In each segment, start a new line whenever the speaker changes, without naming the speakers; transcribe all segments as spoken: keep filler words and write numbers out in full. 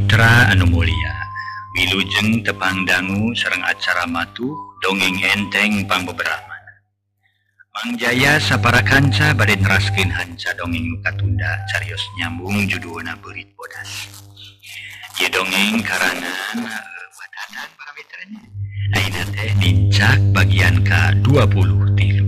Tra Anu Mulia Wilujeng tepang dangu sareng acara matuh dongeng enteng pangbeberapa Mangjaya sapara kanca bade neraskeun hanca dongeng nu katunda carios nyambung judulna Beurit Bodas. Ieu dongeng karangan wadatan para mitranya. Ayeuna teh dincak bagian ka dua puluh tilu.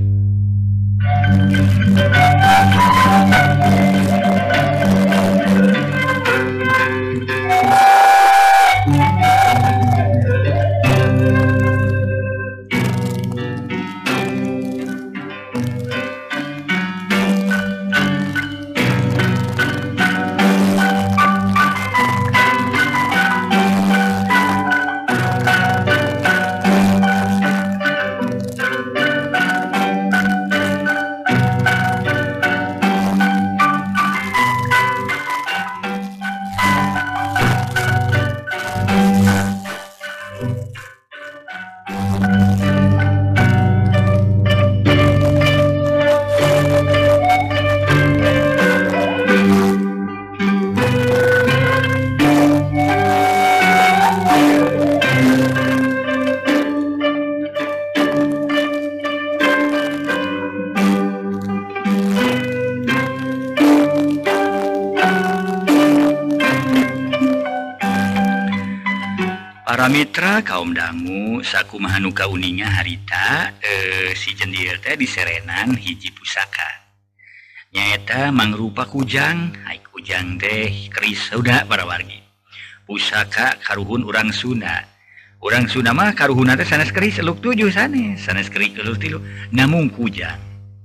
Para mitra kaum dangu sakumaha nu kauninga harita eh, si jendil teh diserenan hiji pusaka nyaeta mangrupa kujang. Hai kujang teh keris sauda para wargi pusaka karuhun urang Sunda. Urang Sunda mah karuhunna teh sanes keris eluk tujuh sanes sanes keris eluk tilu namung kujang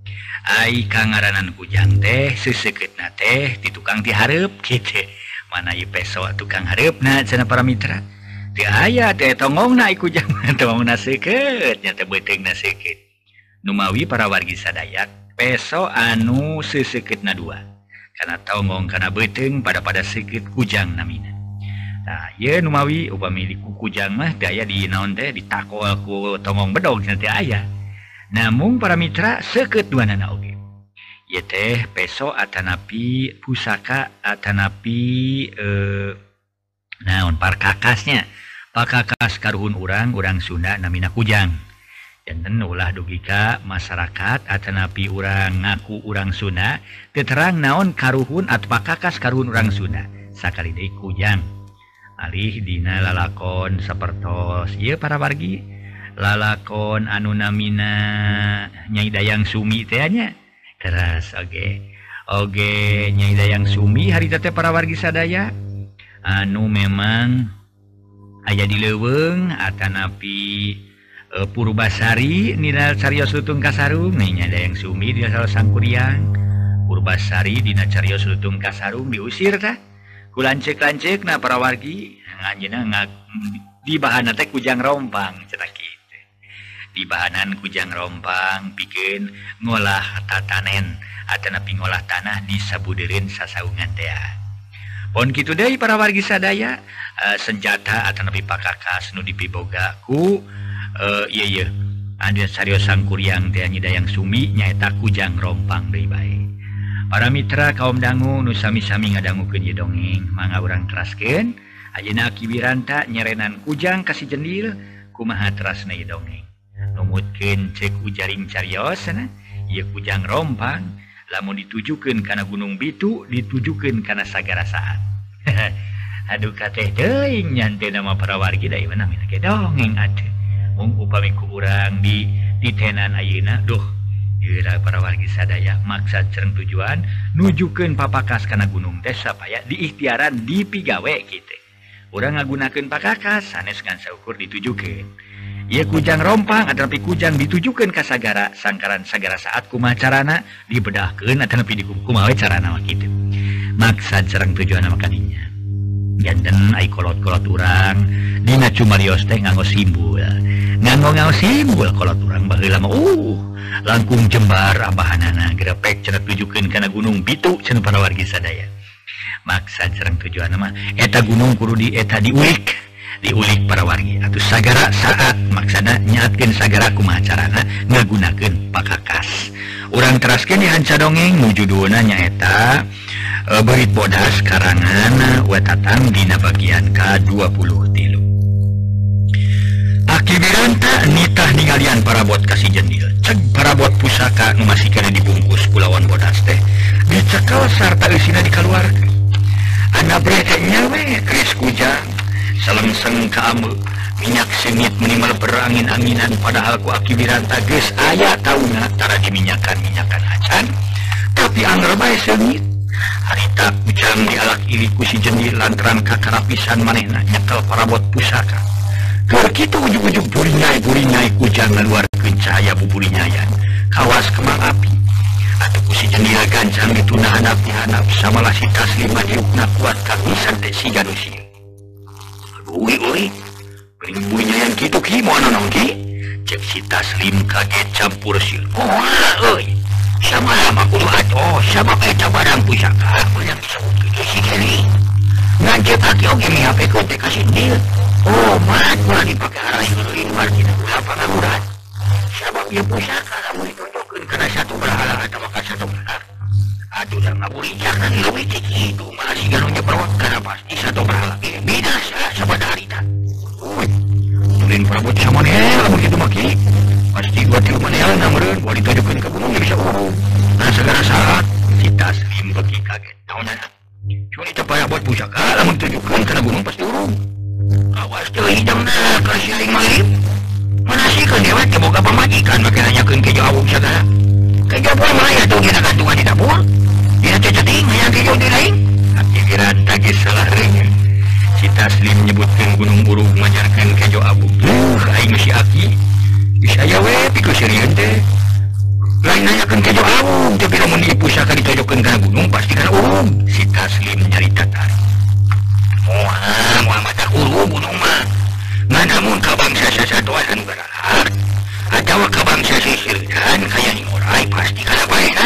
ai kangaranan kujang teh seuseuketna teh ti tukang ti hareup kitu mana ieu peso tukang hareupna cenah para mitra. Teu aya teh tongongna ai kujang tongongna seukeut nya teh beuteungna seukeut. Numawi para wargi sadayak peso anu seuseuketna dua. Kana tongong kana beuteung pada-pada seukeut kujang namina. Nah, ieu numawi upami ku kujang mah teu aya di naon teh ditakol ku tongong bedog cenah teu aya. Namung para mitra seukeut duanana oge. Ieu teh peso atanapi pusaka atanapi eh, naon parkakasnya. Pakakas karuhun urang urang Sunda namina kujang. Janten ulah dugi ka masyarakat atanapi urang ngaku urang Sunda teu terang naon karuhun atau pakakas karuhun urang Sunda. Sakali deui kujang. Alih dina lalakon sapertos ieu para wargi lalakon anu namina Nyai Dayang Sumi teh nya. Teras oge. Oge Nyai Dayang Sumi harita teh para wargi sadaya anu memang aya di leuweung atanapi e, Purbasari nina carios Lutung Kasarung nya Dayang Sumi dina salah sangkuriang Purbasari dina carios Lutung Kasarung diusir tah ku lanceuk-lanceukna para wargi anjeunna ngak di bahanna teh kujang rompang cenah kitu. Di bahanan kujang rompang pikeun ngolah tatanen atanapi ngolah tanah di sabudeureun sasaungan teh. Pon kitu deui para wargi sadaya uh, senjata atanapi pakakas nu dipiboga ku uh, ieu ieu anu carios sangkuriang teh Nyai Dayang Sumi nyaeta kujang rompang deui bae. Para mitra kaum dangu nu sami-sami ngadangukeun ieu dongeng mangga urang teraskeun ayeuna kiwiranta nyerenan kujang ka si jendil kumaha terasna ieu dongeng. Numutkeun ceuk ujaring carios cenah ieu kujang rompang lamun ditujukeun kana Gunung Bitu ditujukeun kana sagara saat. Aduh kateh teuing nyante nama para wargi da ieu namina ge dongeng atuh. Mung upami ku urang di ditenan ayeuna duh ieu para wargi sadaya maksad cereng tujuan nujukeun papakas kana gunung teh supaya diikhtiaran dipigawe kitu. Urang ngagunakeun pakakas sanes ngan saukur ditujukeun. Ieu kujang rompang atanapi kujang ditujukeun ka sagara sangkaran sagara saat kumaha carana dibedahkeun atanapi kumaha carana mah kitu. Maksad sareng tujuanna mah kadinya. Janten ai kolot-kolot urang dina cumarios teh nganggo simbol. Nganggo nganggo simbol kolot urang baheula mah uh langkung jembar abahanana grepek cenah tujukeun kana Gunung Bitu cenah para wargi sadaya. Maksad sareng tujuanna mah eta gunung kudu di eta diulik. Diulik para wargi atau sagara saat maksana nyaatkeun sagara kumaha carana ngagunakeun pakakas. Urang teraskeun di hanca dongeng nu judulna nyaeta E, berit bodas karangan Wetatang dina bagian K dua puluh tilu. Aki Wiranta nitah ningalian parabot kasih jendil. Cek parabot pusaka nu masih kena dibungkus Kulawan bodas teh dicekel sarta eusina dikaluarkeun. Anda brekenya we geus kujang selengseng ka ameu minyak sengit minimal berangin-anginan padahal ku Aki Wiranta geus aya tauna tara diminyakan-minyakan acan tapi anggar bae sengit. Harita kujang dialak iri ku si jendil lantaran kakarapisan manehna nyekel parabot pusaka. Keur kitu ujug-ujug buringai-buringai kujang ngaluarkeun cahaya buburinyayan kawas kembang api. Atuh ku si jendil gancang dituna hanap-hanap samalah si Taslim madiukna kuat kapisan teh siga nu sieun. Aduh euy, burinyayan kitu ki moal naon ki? Cek si Taslim kaget campur sieun. Moal euy. Sama lama kudu atuh, sama eta barang pusaka yang disebut kitu si Geri. Ngancet aki oge mihapekeun teh ka sindil. Oh, mat ulah dipake arahin leuwih margina ulah pangaguran. Sabab ieu pusaka lamun dicocokkeun kana satu berhala atawa ka satu berhala. Aduh da ngaburinjakan leuwih teh kitu malah siga nu nyebrot kana pasti satu berhala ge binasa sabada harita. Uy, tulin prabot samaneh lamun kitu mah ki. Pasti dua tilu manehna meureun moal ditojokeun ka gunung bisa urung. Nah segala saat si Taslim beki kaget. Naonna? Cuma teu payah buat pusaka lamun ditojokeun kana gunung pasti urung. Awas teu hidangna ka si aing malip. Manasikeun dewek teh boga pamajikan make nanyakeun kejo awung sagala. Kejo poe mah aya tuh dina gantungan di dapur. Dina teh ceuting hayang kejo di lain. Aki Wiranta geus salah reungeun. Si Taslim nyebutkeun gunung urug majarkeun kejo awung. Duh aing si Aki. Geus aya we pikeun sirieun teh. Lain nanyakeun kejo awung tapi lamun ieu pusaka ditojokeun kana gunung pasti kana urug. Si Taslim nyarita tari. Moal moal mata urug gunung mah. Ngan namun ka bangsa sasatoan anu garahar atawa ka bangsa sisirdan kaya ning orai pasti kana baena.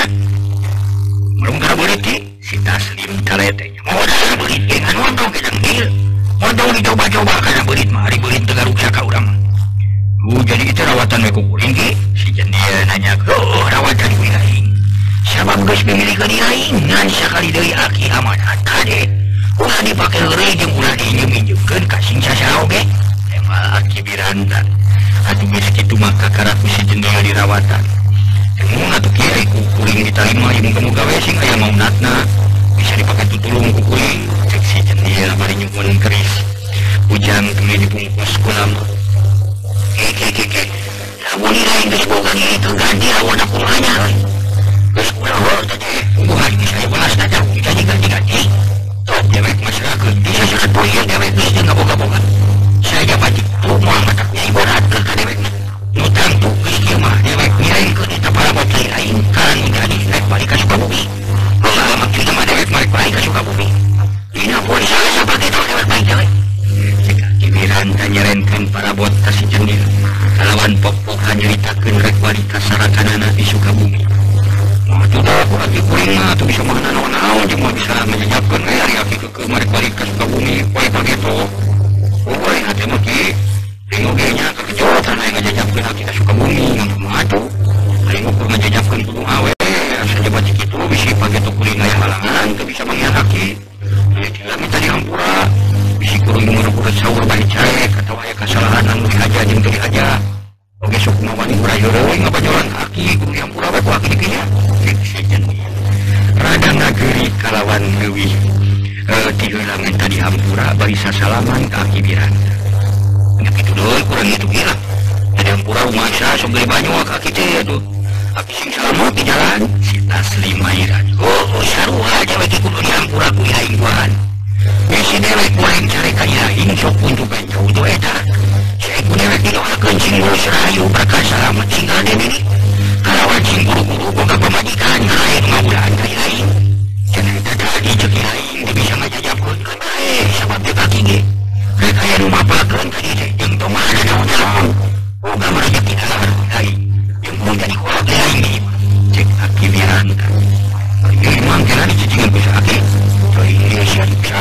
Mulung kana beurit ti si Taslim taletenya. Modal beurit ge ngan montong ke dengdil. Montong dicoba-coba kana beurit mah ari beurit teu garuksa ka urang mah. Uh jadi itu rawatan we ku kuring ki. Si jendil nanya, "Oh, rawatan ku aing." Sabab geus mimilikeun aing ngan sakali deui Aki amanat kade. Ulah dipake heureuy jeung ulah diinjem-injemkeun ka sing sasaha oge. Emang Aki Wiranta. Atuh geus kitu mah kakaraku si jendil dirawatan. Mun atuh kieu ku kuring ditarima ieu muga-muga we sing aya maunatna bisa dipake tutulung ku kuring. Cek si jendil bari nyumun keris. Ujang tuluy dibungkus ku lampu. Keke keke. Lamun lain geus boga kitu ganti lawan aku manya we. Geus kurawol teh. Bukan geus aya balas dadak jadi ganti-ganti. Top dewek masyarakat bisa surat boyan dewek geus teu ngaboga-boga. Saya batik tuh moal matak nyai berat ke ka dewek. Nutang tuh geus kieu mah dewek ngiringkeun eta parabot lain kan menjadi rek balik ka Sukabumi. Boga maksudna mah dewek balik balik ka Sukabumi. Dina poe salesa pake tol dewek baik dewek. Cek Aki Wiranta nyerenkeun parabot ka si jendil. Kalawan pok-pokan nyaritakeun rek balik ka sarakanana di Sukabumi. Mah tuh dah ku Aki kuring mah tuh bisa mana naon-naon jeung mah bisa menjajabkeun we ari Aki keukeum balik balik ka Sukabumi poe pake tol. Poe hati mah ki ring oge nya kekejotan aya ngajajabkeun Aki ka Sukabumi ngan kumaha atuh. Ring ukur ngajajabkeun kudu awe asa jabat kitu bisi pake tol kuring aya halangan teu bisa manggihan Aki. Ieu tidak minta dihampura. Bisi kuring ngeureuk saur bari carek atawa aya kasalahan anu dihaja jeung teu dihaja. Oge sok mawani urayeureui ngabajolan ka Aki kudu dihampura we ku Aki dikinya. Si jendil rada ngageuri kalawan leuwih. Eh ti heula minta dihampura bari sasalaman ka Aki Wiranta. Nya kitu deui kurang itu gila. Dihampura rumah sa sok geus banyu ka Aki teh atuh. Aki sing salamet di jalan. Si Taslim mairan. Oh, sarua dewek kudu dihampura ku aing tuan. Bisi dewek kuring cari ka aing sok puntukan jauh tu eta. Saya ku dewek didoakeun sing lulus rahayu berkah salamet tinggal di dieu. Kalawan sing guru-guru boga pamajikan lain ngabulaan ka aing. Cenah eta tadi jeung aing teu bisa ngajajabkeun ka bae sabab teu Aki ge. Rek aya nu mapakeun ka dieu jeung tong mana naon-naon. Boga marejeki dahar aing. Jeung mun jadi kuat aing cek Aki Wiranta. Ieu mangkena dicecingan ku Aki. Teuing ieu sia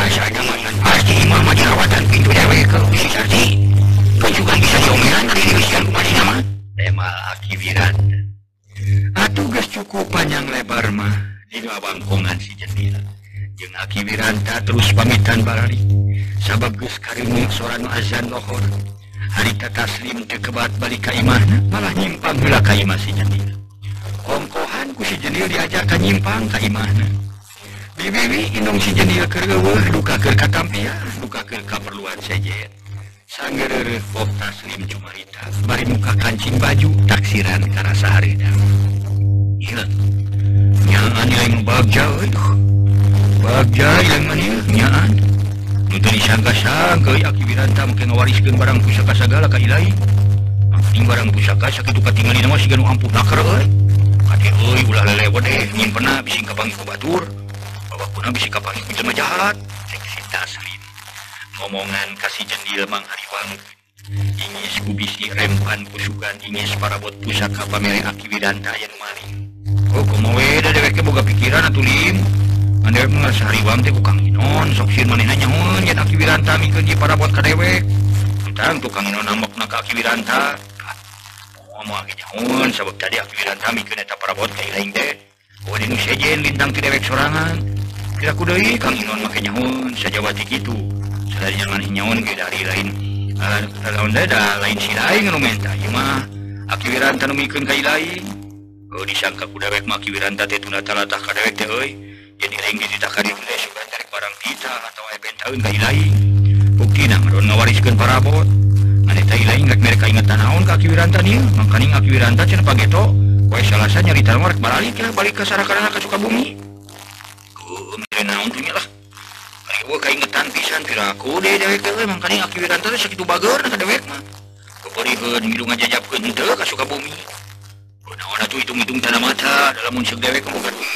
Aki Wiranta terus pamitan balari sabab geus kareung soran azan lohor harita taslim teu kebat balik ka imahna malah nyimpang heula ka imah si Jendil kongkohan ku si Jendil diajak ka nyimpang ka imahna bibibi indung si Jendil keur eueuh duka keur katampian duka keur kaperluan sejen sanggeureuh pok taslim cumarita bari muka kancing baju taksiran kana sahareudang ieu nyaan yang bagja euy bagja yang mana nyaan nu teu disangka-sangka Aki Wiranta mungkin ngawariskeun barang pusaka sagala ka Ilahi ting barang pusaka sakitu katinggalina mah siga nu ampuh nakar euy kade euy ulah lelewet deh nyimpenna bisi kapanggih ku batur babakuna bisi kapanggih ku jelema jahat cek si Taslim ngomongan kasih Jendil Mang Hariwang ingis ku bisi rempan kusugan ingis parabot pusaka pamere Aki Wiranta aya nu maling oh kumawe da dewek ke boga pikiran atuh lim anda ngerasa Hariwang teh kukang Inon sok sieun manehna nyahoan yen Aki Wiranta mikeun ji parabot ka dewek utang tukang Inon nambokna ka Aki Wiranta moal moal ge nyahoan sabab tadi Aki Wiranta mikeun eta parabot ka ilaing teh oh dinu sejen lintang ti dewek sorangan tidak ku deui Kang Inon make nyahoan sajawati kitu sadaya maneh nyahoan ge dari lain lawan da lain si lain anu menta ieu mah Aki Wiranta nu mikeun ka ilaing oh disangka ku dewek mah Aki Wiranta teh tuna talatah ka dewek teh euy jadi ring di takari teh sugan tarik barang kita atau aya bentaeun ka Ilaing buktina ngaron ngawariskeun parabot ane teh Ilaing rek mere kaingetan naon ka Aki Wiranta nih mangkaning Aki Wiranta cenah pageto poe salasa nyarita mah rek balik ya balik ka Sarakarana ka Sukabumi ku mere naon tuh nya lah ari gua kaingetan pisan piraku deui dewek teh mangkaning Aki Wiranta teh sakitu bageurna ka dewek mah keperieun ngilu ngajajabkeun teu ka Sukabumi naon atuh hitung-hitung tanah mata dalam mun seug dewek boga duit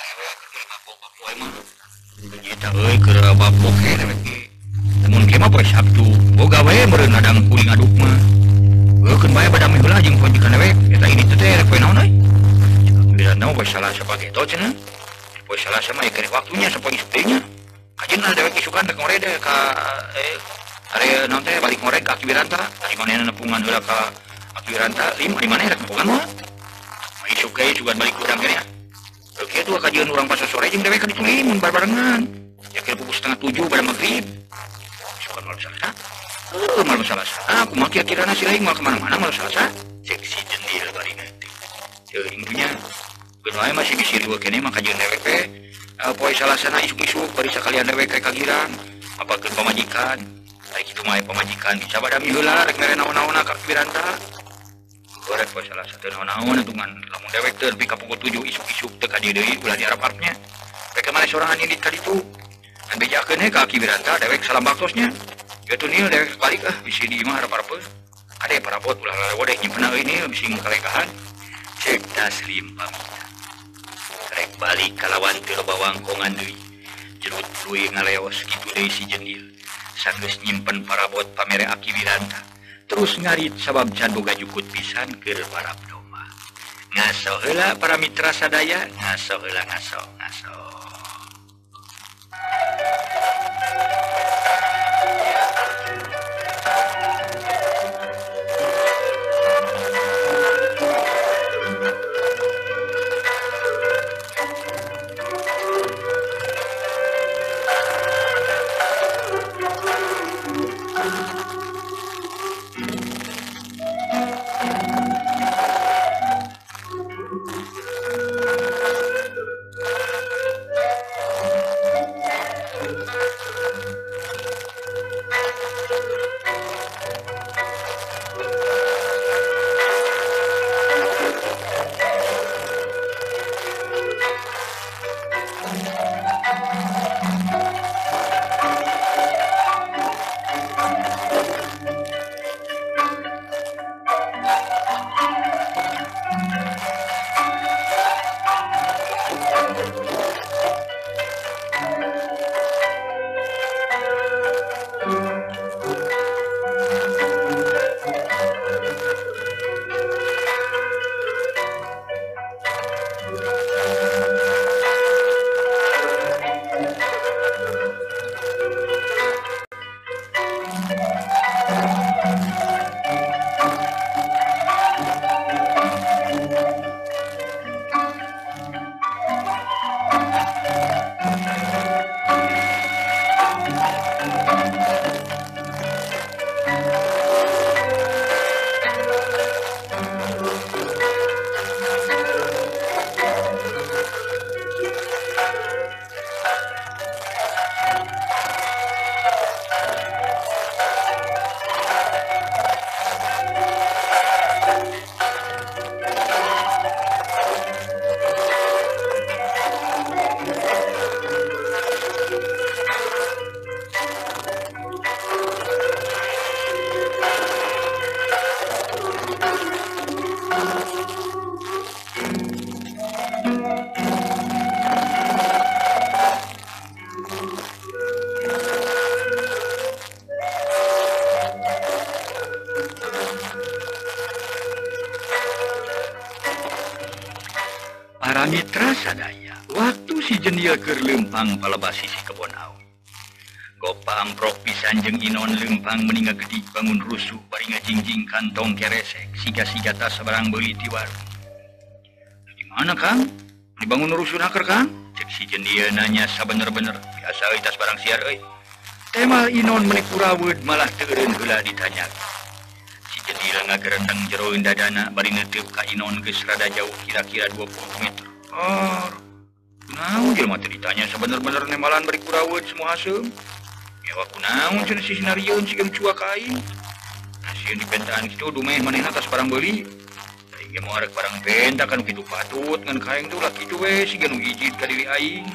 nyata euy keur babok he dewek ge mun kieu mah poe Sabtu boga we meureun ngadang kuring aduk mah eukeun bae badami heula jeung poe ka dewek eta ini teh rek poe naon euy Wiranta mah poe Salasa pageto cenah poe Salasa mah keur waktunya sapoe isuk teh nya kajenna dewek isukan rek ngorede ka eh are naon teh balik ngorek ka Aki Wiranta ari manehna nepungan heula ka Aki Wiranta lim ari maneh rek nepungan mah isuk ge sugan balik urang kene oke tuh kajian orang pas sore jeung dewek ka ditu mun barbarengan ya kira pukul setengah tujuh pada maghrib suka malam Salasa oh malam Salasa aku mah kira-kira si lain mal kemana-mana malam Salasa cek si Jendil bari nanti teuing nya geus wae masih bisi riweuh kene mah kajian dewek teh poe Salasa na isuk-isuk bari sakalian dewek ka girang apakeun pamajikan ari kitu mah pamajikan dicabadami heula rek mere naon-naonna ka Aki Wiranta gorek poe Salasa teu naon-naon atuh ngan lamun dewek teh lebih ka pukul tujuh isuk-isuk teu ka dieu deui ulah diarap-arapnya rek maneh sorangan indit ka ditu dan bejakeun he ka Aki Wiranta dewek salam baktosnya kitu nieu dewek balik ah bisi di imah harap-harapeuh ade parabot ulah lalewo deh nyimpenna euy nieu bisi kalekahan cek Taslim pamina rek balik ka lawan teu loba wangkongan deui jerut tuluy ngaleos kitu deui si Jendil sanggeus nyimpen parabot pamere Aki Wiranta terus ngarit sabab can boga jukut pisan keur parab domba ngaso heula para mitra sadaya ngaso heula ngaso ngaso sambil keur lempang palebas sisi kebon awi. Gopa amprok pisan jeung Inon lempang meninga gedi bangun rusuh bari ngajingjing kantong keresek siga-siga tas sabarang beuli ti warung. Di mana Kang? Dibangun rusuh naker Kang? Cek si jendieu nanya sabener-bener biasa euy tas barang siar euy. Tema Inon menik kuraweud malah teu eureun heula ditanya. Si jendieu ngagerendeng jero dadana bari neuteub ka Inon geus rada jauh kira-kira dua puluh meter. Oh, naon jelema teh ditanya sabener-bener nemalan bari kuraweud semua haseum. Ya waku naon cenah si sinarieun sieun cuak aing. Nasieun dipentaan kitu dumeh manehna tas barang beuli. Aing ge moal barang benta kan kitu patut ngan kaeng tuh lah kitu we siga nu hiji ka diri aing.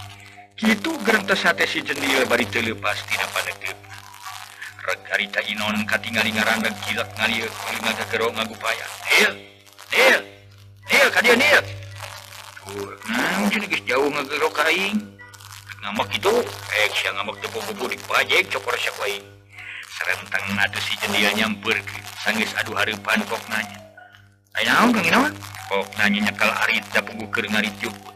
Kitu gerentas hate si jendieu bari teu leupas tina paneuteup. Reg harita Inon katingali ngarandeg kilak ngalieu kulit ngagegero ngagupaya. Nil, Nil, Nil ka dieu Nil. Tuh, naon cenah geus jauh ngagegero ka aing. Ngambek itu, eh sia ngambek tepu-tepu di pajek cokor syak wae. Sarentang atuh si jendieu nyampeurkeun, sanggeus adu hareupan kok nanya. Aya naon Kang Inon? Kok nanya nyekal arit da puguh keur ngarit jukut.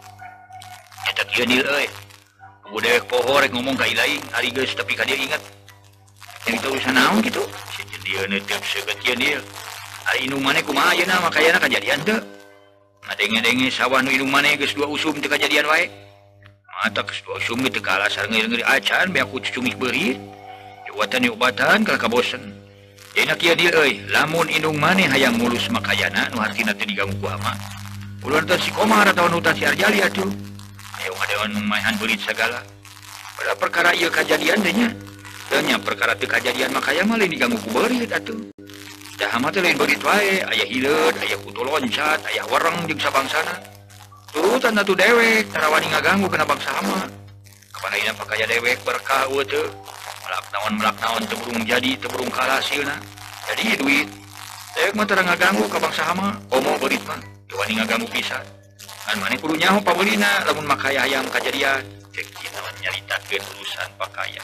Eta kieu Nil euy. Puguh dewek poho rek ngomong ka ilaing, ari geus tapi ka dieu inget. Cerita urusan naon kitu? Si jendieu neuteub seukeut kieu Nil. Ari indung maneh kumaha ayeuna makayana kajadian teu? Ngadenge-denge sawah nu indung maneh geus dua usum teu kajadian wae. Mata geus dua usum teu kalah sareng ngeri-ngeri acan be aku cucungih beurit. Jawatan obatan kal kabosen. Dina kieu dieu euy, lamun indung maneh hayang mulus makayana nu hartina teu diganggu ku ama. Ulun teh si Komar atawa nu si Arjali atuh. Ayo ngadeon maehan beurit sagala. Pada perkara ieu kajadian teh nya. Teu nya perkara teu kajadian makaya mah lain diganggu ku beurit atuh. Dah mah teh lain beurit wae, aya hileud, aya kutu loncat, aya wereng jeung sabangsana. Turutan atuh dewek tarawani ngaganggu kana bangsa hama. Kapanaina pakaya dewek berkah eueuh teu. Melak naon melak naon teu burung jadi teu burung kalah hasilna. Jadi duit. Dewek mah teu ngaganggu ka bangsa hama, omo beurit mah teu wani ngaganggu pisan. Ngan maneh kudu nyaho pabeulina lamun makaya hayang kajadian. Cek kieu nyaritakeun urusan pakaya.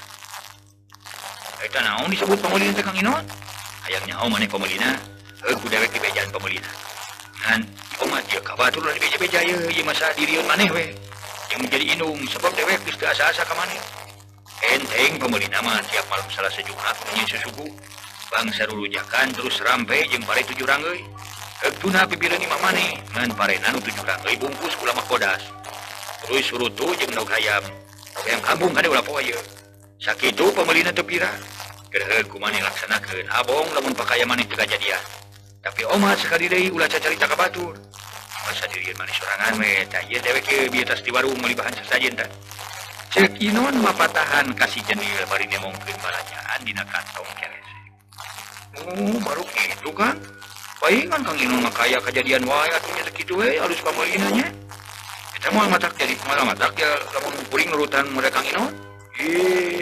Eta naon disebut pameulina teh Kang Inon? Hayang nyaho maneh pameulina? Heuh ku dewek di bejaan pameulina. Ngan Oma dia kabatur lah di beja-beja ya, iya masa diriun maneh we. Yang menjadi indung sebab dewek geus teu asa-asa ka maneh. Enteng pemerintah mah tiap malam salah sejumat menyi susuku. Bangsa rulujakan terus rampe jeung pare tujuh ranggeuy. Heugtuna pipireun imah maneh ngan parena nu tujuh ranggeuy bungkus kula kodas. Terus surutu jeung daug hayam. Daug hayam kampung kade ulah poe ieu. Sakitu pemerintah teu pira. Keur heug ku maneh laksanakeun abong lamun pakaya maneh teu kajadian. Tapi Oma sekali deui ulah cacarita ka batur. Masa dirian manis sorangan we, tah ieu dewek ieu bieu tas di warung meuli bahan sasajen tah. Ceuk Inon mapatahan kasih jenil bari nemongkeun balajaan dina kantong keresek. Oh, baru kitu kan? Paingan Kang Inon mah kaya kajadian wae atuh nya kitu we alus pameulina nya. Eta moal matak jadi moal matak ya lamun kuring nurutan muda Kang Inon. Ih.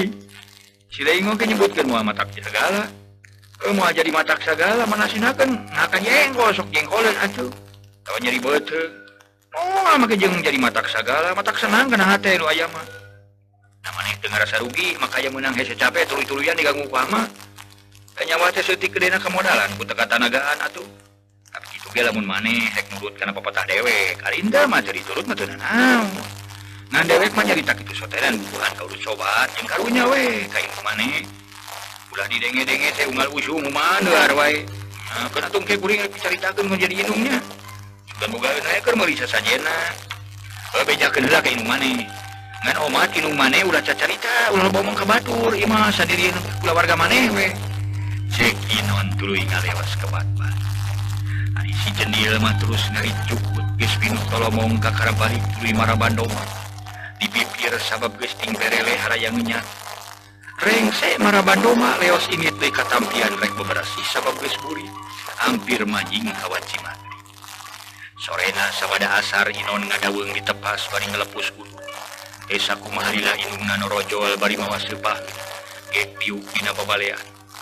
Si Leing ge nyebutkeun moal matak segala. Eh, mau jadi matak segala manasinakeun ngakan jengkol sok jengkolan atuh. Tawa nyeri beuteung. Oh, make jeung jadi matak segala, matak senang kana hate nu aya mah. Na maneh teu ngarasa rugi, makanya meunang hese capek tuluy-tuluyan diganggu ku ama. Kanyawa teh seutik gedena kemodalan ku teu katanagaan atuh. Tapi kitu ge lamun maneh rek nurut kana pepatah dewek, arinda mah teu diturut mah teu naon. Ngan dewek mah nyarita kitu soteran bubuhan ka urut sobat jeung karunya we ka ilmu maneh. Ulah didenge-denge teh unggal usum maneuar wae. Nah, kana tungke kuring rek dicaritakeun ngan jadi indungnya. Sugan boga euneu keur meuli sasajena. Heuh bejakeun heula ka indung maneh. Ngan omat indung maneh ulah cacarita, ulah bomong ka batur, ieu mah sandirian ulah warga maneh we. Cek Inon tuluy ngalewas ka bat-bat. Ari si jendiel mah terus ngarit cukut geus pinuh tolomong ka karabalik tuluy marabandoma. Di bibir sabab geus ting berele harayang ngenyat. Rengse marabandoma leos ingit deui katampian rek beberasi sabab geus buri hampir majing ka wanci maghrib. Sorena sabada asar Inon ngadaweung di tepas bari ngelepus ulu. Esa kumaha lila indungna norojol bari mawas leupah gek piuk dina babalean.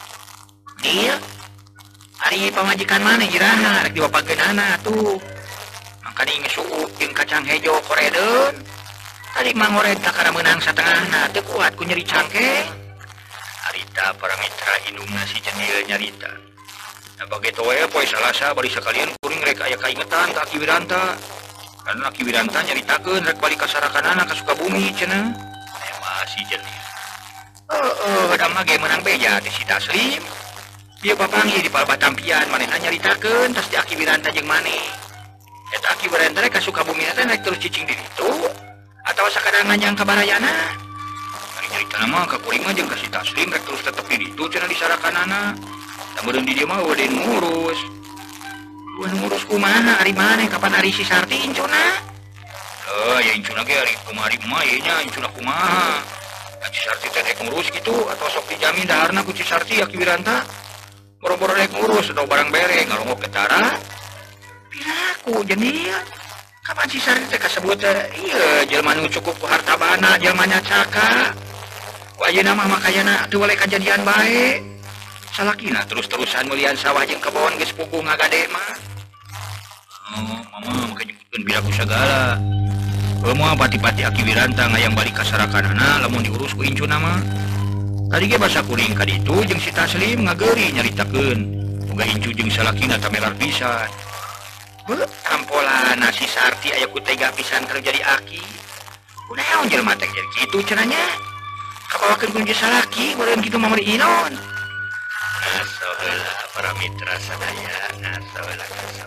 Ieu ari pamajikan maneh jiraha rek diwapageunana atuh. Mangkani ngisuuk jeung kacang hejo koredeun. Tadi mangored takara meunang satengahna teu kuat ku nyeri cangkeng. Harita para mitra indungna si jenil nyarita. Nah begitu we poe Salasa bari sakalian kuring rek aya kaingetan ka Ki Wiranta. karena Ki Wiranta nyaritakeun rek balik ka Sarakanana ka Sukabumi cenah. Aya masih jeung. Heeh, da mah ge menang beja teh si Taslim. Dia papanggih di Palbatampian manehna nyaritakeun tas di Ki Wiranta jeung maneh. Eta Ki Wiranta rek ka Sukabumi teh rek terus cicing di ditu atawa sakadang nganyang ka Barayana. Ari caritana mah ka kuring mah jeung ka si Taslim rek terus tetep di ditu cenah di Sarakanana. Da meureun di dieu mah udah ngurus. Udah ngurus kumaha ari maneh kapan ari si Sarti incuna? Oh, ya incuna ge ari kumari mah ieu nya incuna kumaha? Si Sarti teh rek ngurus gitu atau sok dijamin daharna ku si Sarti ya Ki Wiranta? Boro-boro rek ngurus atau barang bere ngalongok ke Tara? Piraku jenil. Kapan si Sarti teh kasebut teh ieu jelema nu cukup ku hartabana jelema nya caka. Ku ayeuna mah makayana teu waleh kajadian bae. Salakina terus-terusan melian sawah jeung kebon geus puguh ngagade mah. Oh, mama maka nyebutkeun biraku sagala. Heuh moal pati-pati Ki Wiranta ngayang balik ka Sarakanana lamun diurus ku incuna mah. Tadi ge basa kuring ka ditu jeung si Taslim ngageuri nyaritakeun boga incu jeung salakina tamelar pisan. Heuh, ampolana si Sarti aya ku tega pisan keur jadi aki. Kunaon jelema teh jadi kitu cenanya? Kabawakeun ku salaki meureun kitu mah meuli inon. Ngaso heula para mitra sadaya, ngaso heula ngaso.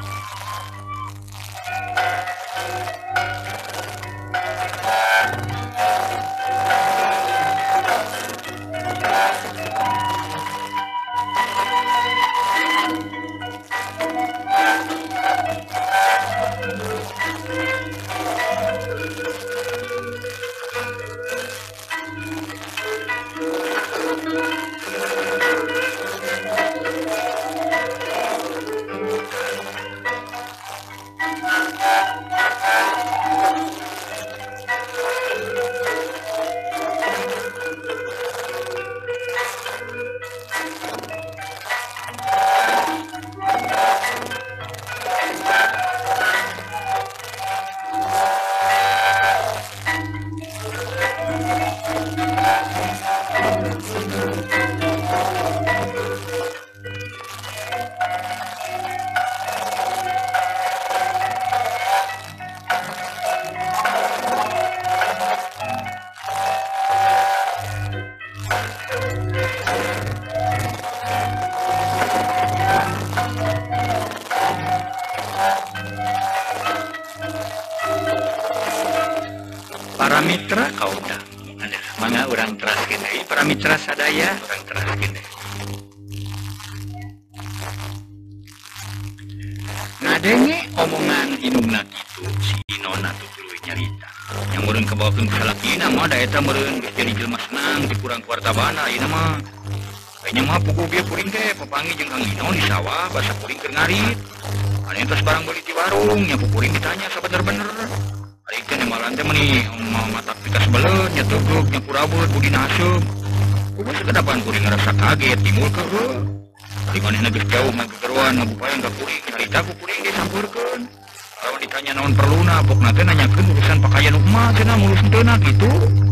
Para mitra kaudah ada mangga urang teraskeun deui para mitra sadaya urang teraskeun deui. Ngadenge omongan indungna kitu si Inona tutuluy nyarita. Yang meureun kabawakeun ka salakina mah da eta meureun geus jadi jelema senang di kurang kuartabana ieu mah. Kayaknya mah puguh ge kuring teh papanggih jeung Kang Inon di sawah basa kuring keur ngarit. Anu tos barang beli di warung nya kuring ditanya sabener-bener. Ari teh malan teh meuni matak pika sebeleun nya teuguk nya kurabeut budi naseup. Kumaha sakedapan kuring ngarasa kaget timbul ka heuh. Ari manehna geus jauh ngagegeruan ngabupayan ka kuring nyarita ku kuring disampeurkeun. Lamun ditanya naon perluna pokna teh nanyakeun urusan pakaian emak cenah mulus henteu kitu.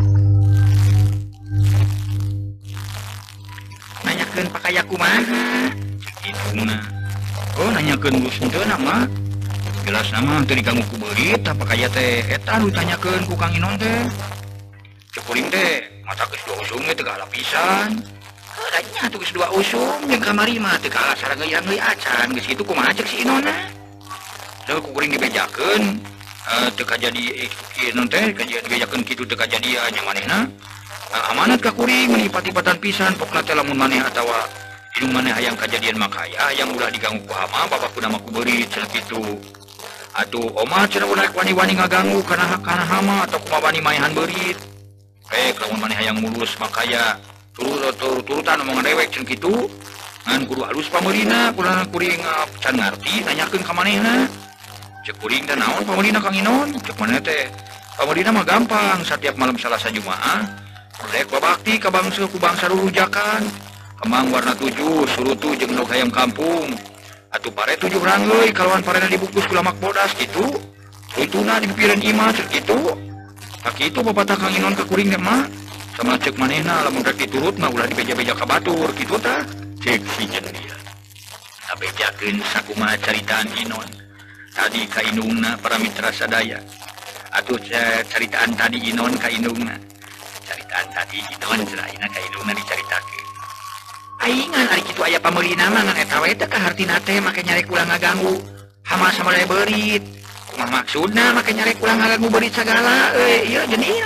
Nanyakeun pakaian kumaha? Kituna. Oh nanyakeun mulus henteu mah. Jelas nama teu diganggu ku beurit apa kaya teh eta nu ditanyakeun ku Kang Inon teh. Cek kuring teh mata geus dua usum teh teu pisan. Heula nya atuh geus dua usum jeung kamari mah teu kalah sarageuyan deui acan geus kitu kumaha cek si Inonna. Teu ku kuring dibejakeun eh teu kajadi ki Inon teh kajadian dibejakeun kitu teu kajadian nya manehna. Amanat ka kuring meuni pati-patan pisan pokna teh lamun maneh atawa indung maneh hayang kajadian makaya yang ulah diganggu ku hama babakuna mah ku beurit cenah kitu. Atuh omah cenah ulah wani-wani ngaganggu kana kana hama atau kumaha wani maehan beurit. Rek lamun maneh hayang mulus makaya turut turutan omongan dewek cenah kitu. Ngan kudu halus pameurina kunaon kuring can ngarti nanyakeun ka manehna. Cek kuring teh naon pameurina Kang Inon? Cek maneh teh pameurina mah gampang setiap malam Salasa Jumaah rek babakti ka bangsa ku bangsa rurujakan. Kemang warna tujuh surutu jeung endog hayam kampung. Atuh pare tujuh rangeuy kalawan parena dibungkus ku lamak bodas kitu. Ituna dipipireun imah cek kitu. Ka kitu papatah Kang Inon ka kuring teh mah. Sama cek manehna lamun rek diturut mah ulah dibeja-beja ka batur kitu tah. Cek si jeung dia. Abejakeun sakumaha caritaan Inon. tadi kainungna para mitra sadaya atuh caritaan tadi Inon kainungna caritaan tadi Inon selaina kainungna dicaritakeun aingan ari kitu aya pameulina mah ngan eta we teh kahartina teh make nyarek ulang ngaganggu hama sama berit kumaha maksudna make nyarek ulang ngaganggu berit sagala euy ieu jenil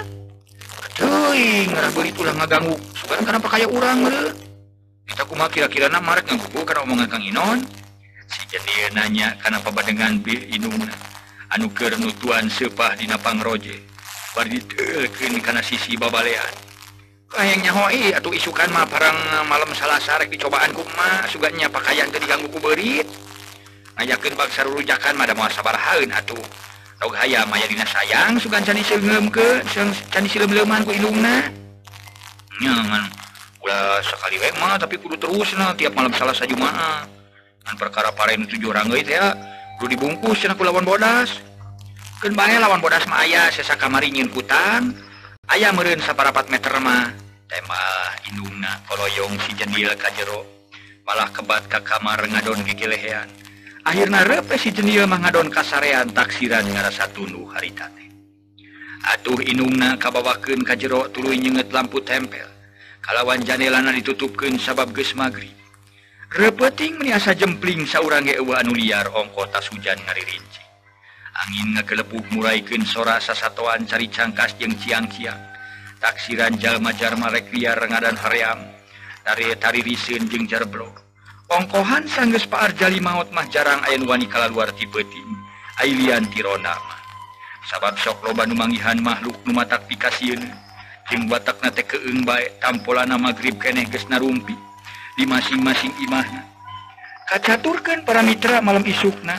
teuing ngarah berit ulang ngaganggu sugan kana pakaya urang meureun eta kumaha kira-kirana marek nganggugu kana omongan Kang Inon si jenil nanya kana pabadengan bi inungna anu keur nutuan seupah dina pangroje bari diteukeun kana sisi babalean hayang nyahoi atuh isukan mah parang malam Salasa rek dicobaan kumaha suganya pakaian teu diganggu ku beurit ngajakeun bangsa rurujakan mah da moal sabarahaeun atuh daug hayam aya dina sayang sugan can diseungeumkeun can disilem-leuman ku indungna nya ngan ulah sakali we mah tapi kudu terusna tiap malam Salasa Jumaah ngan perkara pare nu tujuh orang euy teh kudu dibungkus cenah ku lawan bodas keun bae lawan bodas mah aya sasakamari nyieun kutang aya meureun saparapat meter mah teh mah indungna koloyong si jendil ka jero malah kebat ka kamar ngadon gigilehean akhirna reupe si jendil mah ngadon kasarean taksiran ngarasa tunduh harita teh atuh indungna kabawakeun ka jero tuluy nyeungeut lampu tempel kalawan jandelana ditutupkeun sabab geus magrib repeting meniasa jempling saurang ge eueuh anu liar ongko tas hujan ngaririnci angin ngagelepuk muraikeun sora sasatoan cari cangkas jeung ciang-ciang taksiran jalma-jalma rek liar ngadan haream tari taririseun jeung jarblok ongkohan sanggeus paar jali maot mah jarang aya nu wani kalaluar ti beuting ailian ti ronda mah sabab sok loba nu manggihan makhluk nu matak pikasieun jeung watakna teh keueung bae tampolana magrib keneh geus narumpi di masing-masing imahna kacaturkeun para mitra malam isukna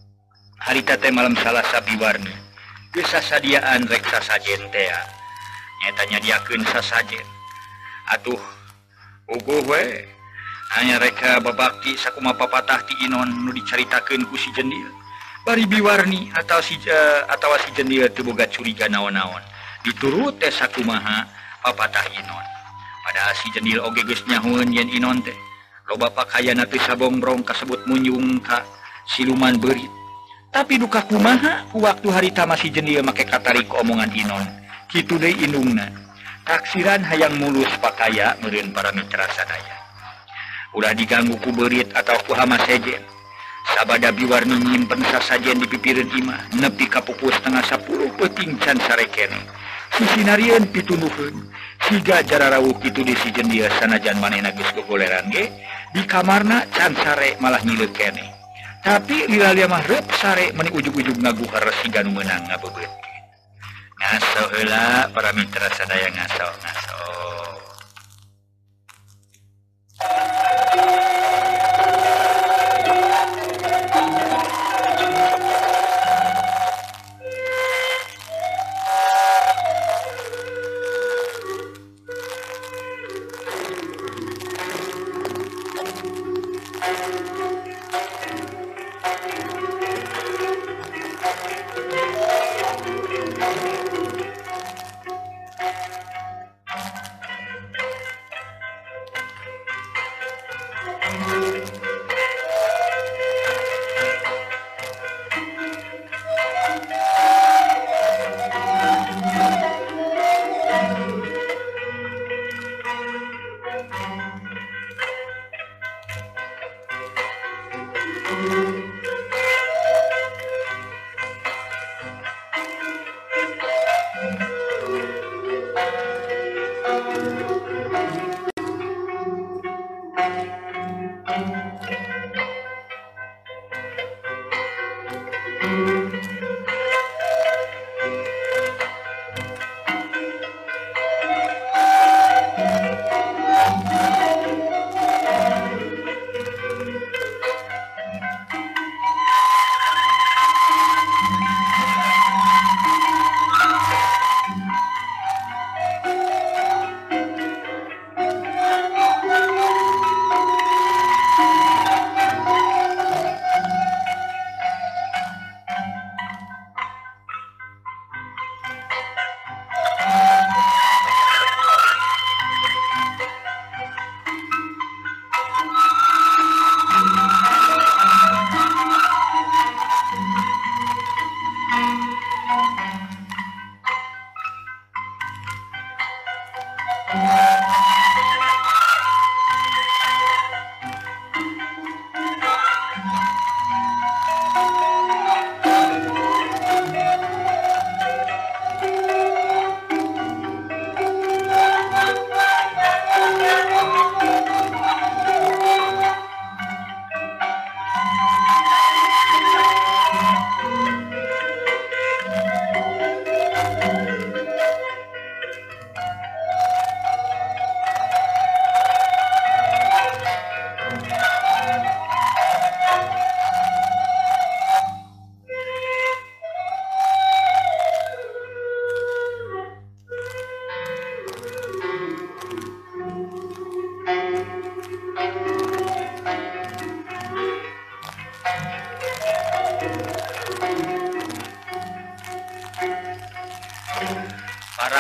harita teh malam Salasa biwarni geus sasadiaan rek sasajen teh nyaeta nyadiakeun sasajen atuh uguh we hanya reka babakti sakumaha papatah ti Inon nu dicaritakeun ku si jendil bari biwarni atawa si uh, atawa si jendil teu boga curiga naon-naon diturut teh sakumaha papatah Inon padahal si jendil oge geus nyahoeun yen Inon teh loba pakayana teu sabongbrong kasebut munjung ka siluman beurit tapi duka kumaha ku waktu harita masih jendil make katarik omongan Inon kitu deui indungna taksiran hayang mulus pakaya meureun para mitra sadaya ulah diganggu ku beurit atau ku hama sejen sabada biwarni nyimpen sasajen di pipireun imah nepi ka pukul setengah sepuluh peuting can sare keneh sisinarieun pitunuhkeun siga jararawuh kitu di si jendil sanajan manehna geus gogoleran ge di kamarna can sare malah ngileuk keneh tapi lilalia mah reup sare meni ujug-ujug ngaguhar siga nu meunang ngabebeutkeun ngaso heula para mitra sadaya ngaso ngaso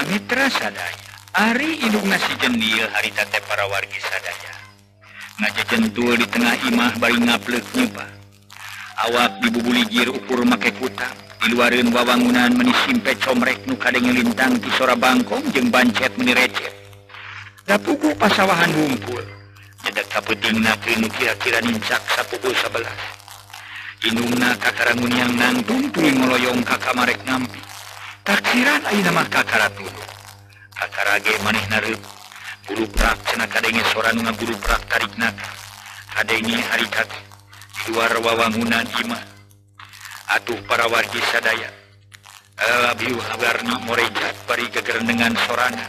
Mitra sadaya Ari indung nasi jendil harita teh para wargi sadaya ngajejentul di tengah imah bari ngaplek nyupa awak dibubuligir ukur make kutang di luareun wawangunan meuni simpe comrek nu kadenge lintang ti sora bangkong jeung bancet meuni recet da pugu pasawahan ngumpul nyedak kapeutingna teu nu kira-kira nincak sapukul sabelas indungna kakarangun yang nangtung tuluy ngoloyong ka kamarek ngampi taksiran ayeuna mah kakara tuluy kakara ge manehna reup guru prak cenah kadenge sora nu ngaguru prak tarikna kadenge harita teh di luar wawangunan imah atuh para wargi sadaya abiu habarni morejat bari gegerendengan sorana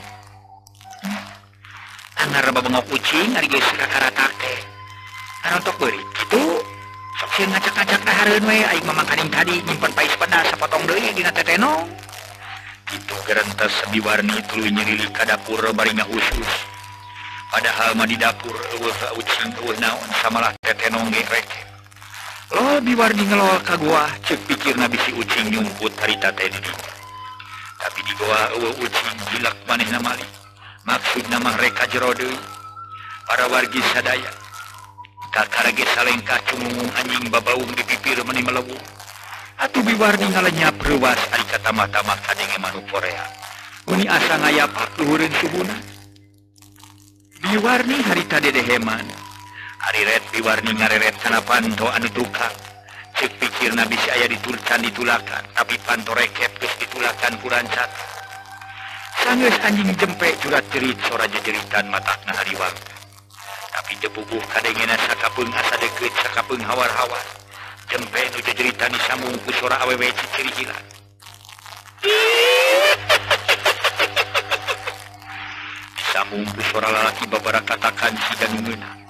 anggar babengok ucing ari geus kakaratak teh arontok beurit kitu sok sieun ngacak-ngacak dahareun we aing mah makaning tadi nyimpen pais pedas sapotong deui dina tetenong kitu gerentes biwarni tuluy nyerilik ka dapur bari ngausus padahal mah di dapur eueuh ucing eueuh naon samalah tetenong ge rek lo biwarni ngelol ka goa cek pikirna bisi ucing nyumput harita teh di dinya tapi di goa eueuh ucing gilak manehna mali maksudna mah reka jero deui para wargi sadaya kakara ge salengkah cungungung anjing babaung di pipir meuni melewung atuh biwarni ngalenyap reuwas ari katama-tama kadenge manuk Korea uni asa ngayapak luhureun subuna biwarni harita dedeheman Ari red biwarni ngareret kana panto anu tukang cek pikirna bisa aya ditulcan ditulakan tapi panto rekep geus ditulakan ku rancata sanggeus anjing jempe jurat cerit sora jejeritan matakna hariwang tapi jebubuh kadengena sakapeung asa deukeut sakapeung hawar-hawar jempe nu jejeritan disambung ku sora awewe ciciri hilang disambung ku sora lalaki babara katakan si dan meunang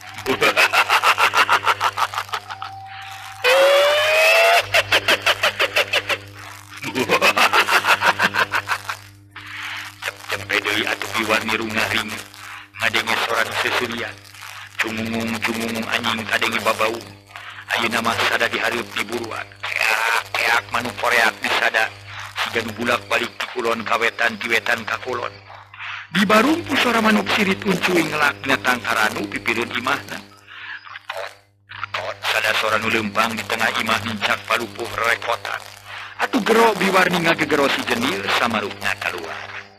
jempe deui atuh biwarni rungaring ngadenge soran sesurian cungungung cungungung anjing kadenge babaung ayeuna mah sada dihareup di buruan keak keak manuk koreak disada siga nu bulak balik ti kulon ka wetan ti wetan ka kulon di barungku sora manuk sirit uncuy ngelak ngatang karanu pipireun imahna sada sora nu leumpang di tengah imah nincak palupuh rekotan atuh gero biwarni ngagegero si jendil samarukna kaluar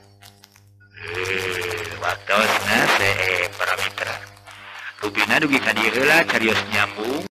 eh waktosna see para mitra rubina dugi ka dieu heula carios nyambung